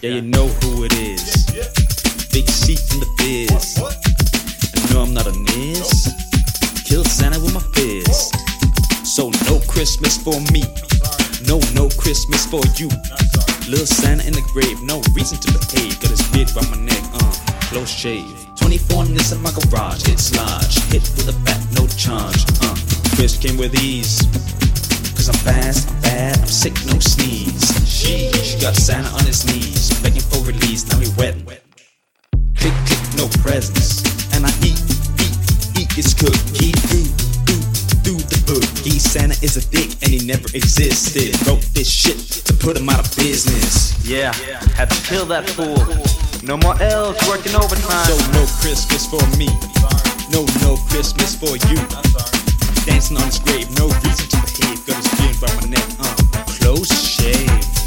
Yeah, you know who it is. Big C from the biz. I know I'm not a miss. Killed Santa with my fist. So no Christmas for me. No Christmas for you. Little Santa in the grave, no reason to behave. Got his beard by my neck, close shave. 24 nits in my garage, it's large. Hit with a bat, no charge, Chris came with ease. Cause I'm fast, I'm bad, I'm sick, no sneeze. Sheesh, got Santa on his knees, begging for release, now he wet. Click, click, no presents. And I eat his cookie. Do the boogie. Santa is a dick and he never existed. Wrote this shit to put him out of business. Yeah, had to kill that fool. No more elves working overtime. So no Christmas for me. No Christmas for you. Dancing on his grave, no reason to behave. Got his beard by my neck, close shave.